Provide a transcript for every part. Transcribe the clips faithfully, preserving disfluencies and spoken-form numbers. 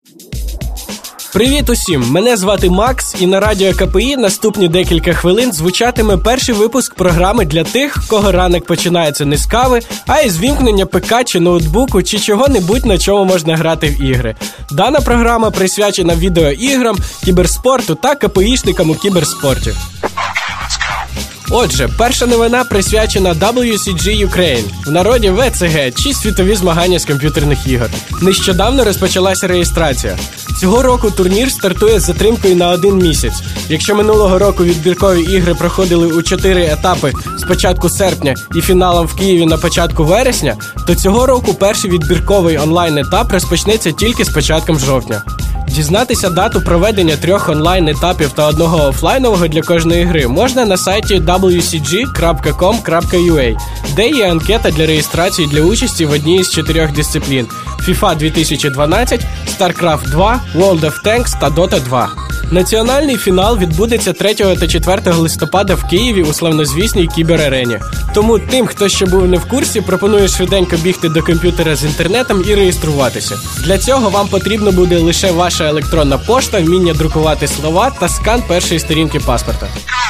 Привіт усім! Мене звати Макс, і на радіо КПІ наступні декілька хвилин звучатиме перший випуск програми для тих, кого ранок починається не з кави, а із вімкнення ПК чи ноутбуку, чи чого-небудь, на чому можна грати в ігри. Дана програма присвячена відеоіграм, кіберспорту та КПІшникам у кіберспорті. Отже, перша новина присвячена дабл ю сі джі Ukraine, в народі ве це ге, чи світові змагання з комп'ютерних ігор. Нещодавно розпочалася реєстрація. Цього року турнір стартує з затримкою на один місяць. Якщо минулого року відбіркові ігри проходили у чотири етапи з початку серпня і фіналом в Києві на початку вересня, то цього року перший відбірковий онлайн-етап розпочнеться тільки з початком жовтня. Дізнатися дату проведення трьох онлайн-етапів та одного офлайнового для кожної гри можна на сайті дабл ю сі джі крапка ком крапка ю а, де є анкета для реєстрації для участі в одній із чотирьох дисциплін – FIFA дві тисячі дванадцять, StarCraft два, World of Tanks та Dota два. Національний фінал відбудеться третього та четвертого листопада в Києві у славнозвісній кіберарені. Тому тим, хто ще був не в курсі, пропоную швиденько бігти до комп'ютера з інтернетом і реєструватися. Для цього вам потрібно буде лише ваша електронна пошта, вміння друкувати слова та скан першої сторінки паспорта.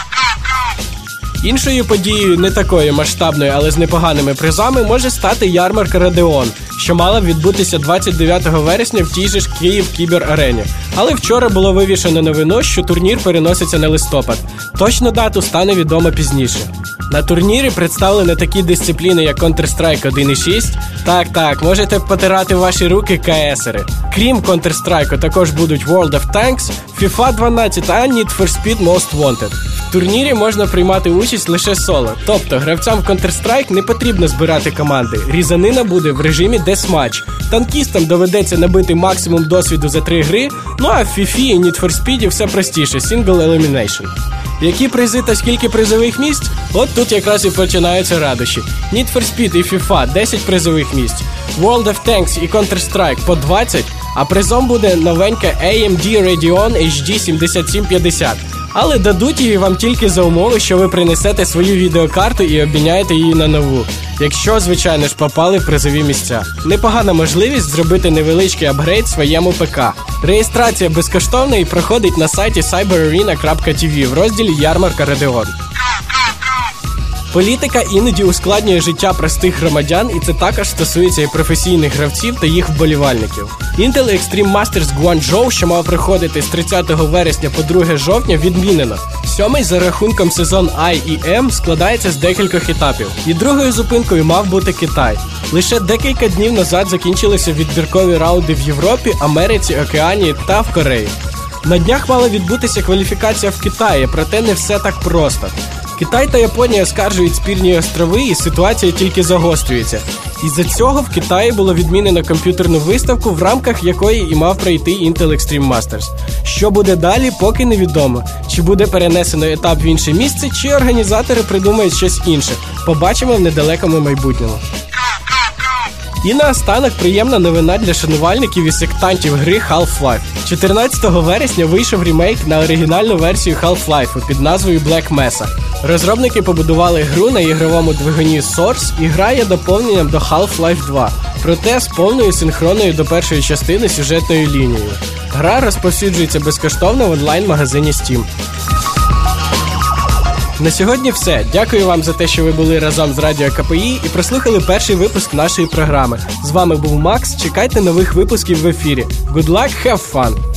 Іншою подією, не такою масштабною, але з непоганими призами, може стати ярмарка Radeon, що мала б відбутися двадцять дев'ятого вересня в тій же ж Київ кіберарені. Але вчора було вивішено новину, що турнір переноситься на листопад. Точну дату стане відомо пізніше. На турнірі представлені такі дисципліни, як Counter-Strike один і шість. Так-так, можете потирати ваші руки КСери. Крім Counter-Strike, також будуть World of Tanks, FIFA дванадцять та Need for Speed Most Wanted. В турнірі можна приймати участь лише соло, тобто гравцям в Counter-Strike не потрібно збирати команди. Різанина буде в режимі Deathmatch. Танкістам доведеться набити максимум досвіду за три гри, ну а в FIFA і Need for Speed все простіше – Single Elimination. Які призи та скільки призових місць? От тут якраз і починаються радощі. Need for Speed і FIFA – десять призових місць, World of Tanks і Counter-Strike по двадцять, а призом буде новенька ей ем ді Radeon ейч ді сімдесят сім п'ятдесят. Але дадуть її вам тільки за умови, що ви принесете свою відеокарту і обміняєте її на нову. Якщо, звичайно ж, попали в призові місця. Непогана можливість зробити невеличкий апгрейд своєму ПК. Реєстрація безкоштовна і проходить на сайті сайбер арена крапка ті ві в розділі «Ярмарка Radeon». Політика іноді ускладнює життя простих громадян, і це також стосується і професійних гравців та їх вболівальників. Intel Extreme Masters Guangzhou, що мав проходити з тридцятого вересня по друге жовтня, відмінено. Сьомий за рахунком сезон Ай і Ем складається з декількох етапів. І другою зупинкою мав бути Китай. Лише декілька днів назад закінчилися відбіркові раунди в Європі, Америці, Океанії та в Кореї. На днях мала відбутися кваліфікація в Китаї, проте не все так просто. Китай та Японія оскаржують спірні острови, і ситуація тільки загострюється. Із-за цього в Китаї було відмінено комп'ютерну виставку, в рамках якої і мав пройти Intel Extreme Masters. Що буде далі, поки невідомо. Чи буде перенесено етап в інше місце, чи організатори придумають щось інше. Побачимо в недалекому майбутньому. І наостанок приємна новина для шанувальників і сектантів гри Half-Life. чотирнадцятого вересня вийшов ремейк на оригінальну версію Half-Life під назвою Black Mesa. Розробники побудували гру на ігровому двигуні Source, і гра є доповненням до Half-Life два, проте з повною синхронною до першої частини сюжетною лінією. Гра розповсюджується безкоштовно в онлайн-магазині Steam. На сьогодні все. Дякую вам за те, що ви були разом з Радіо КПІ і прослухали перший випуск нашої програми. З вами був Макс. Чекайте нових випусків в ефірі. Good luck, have fun!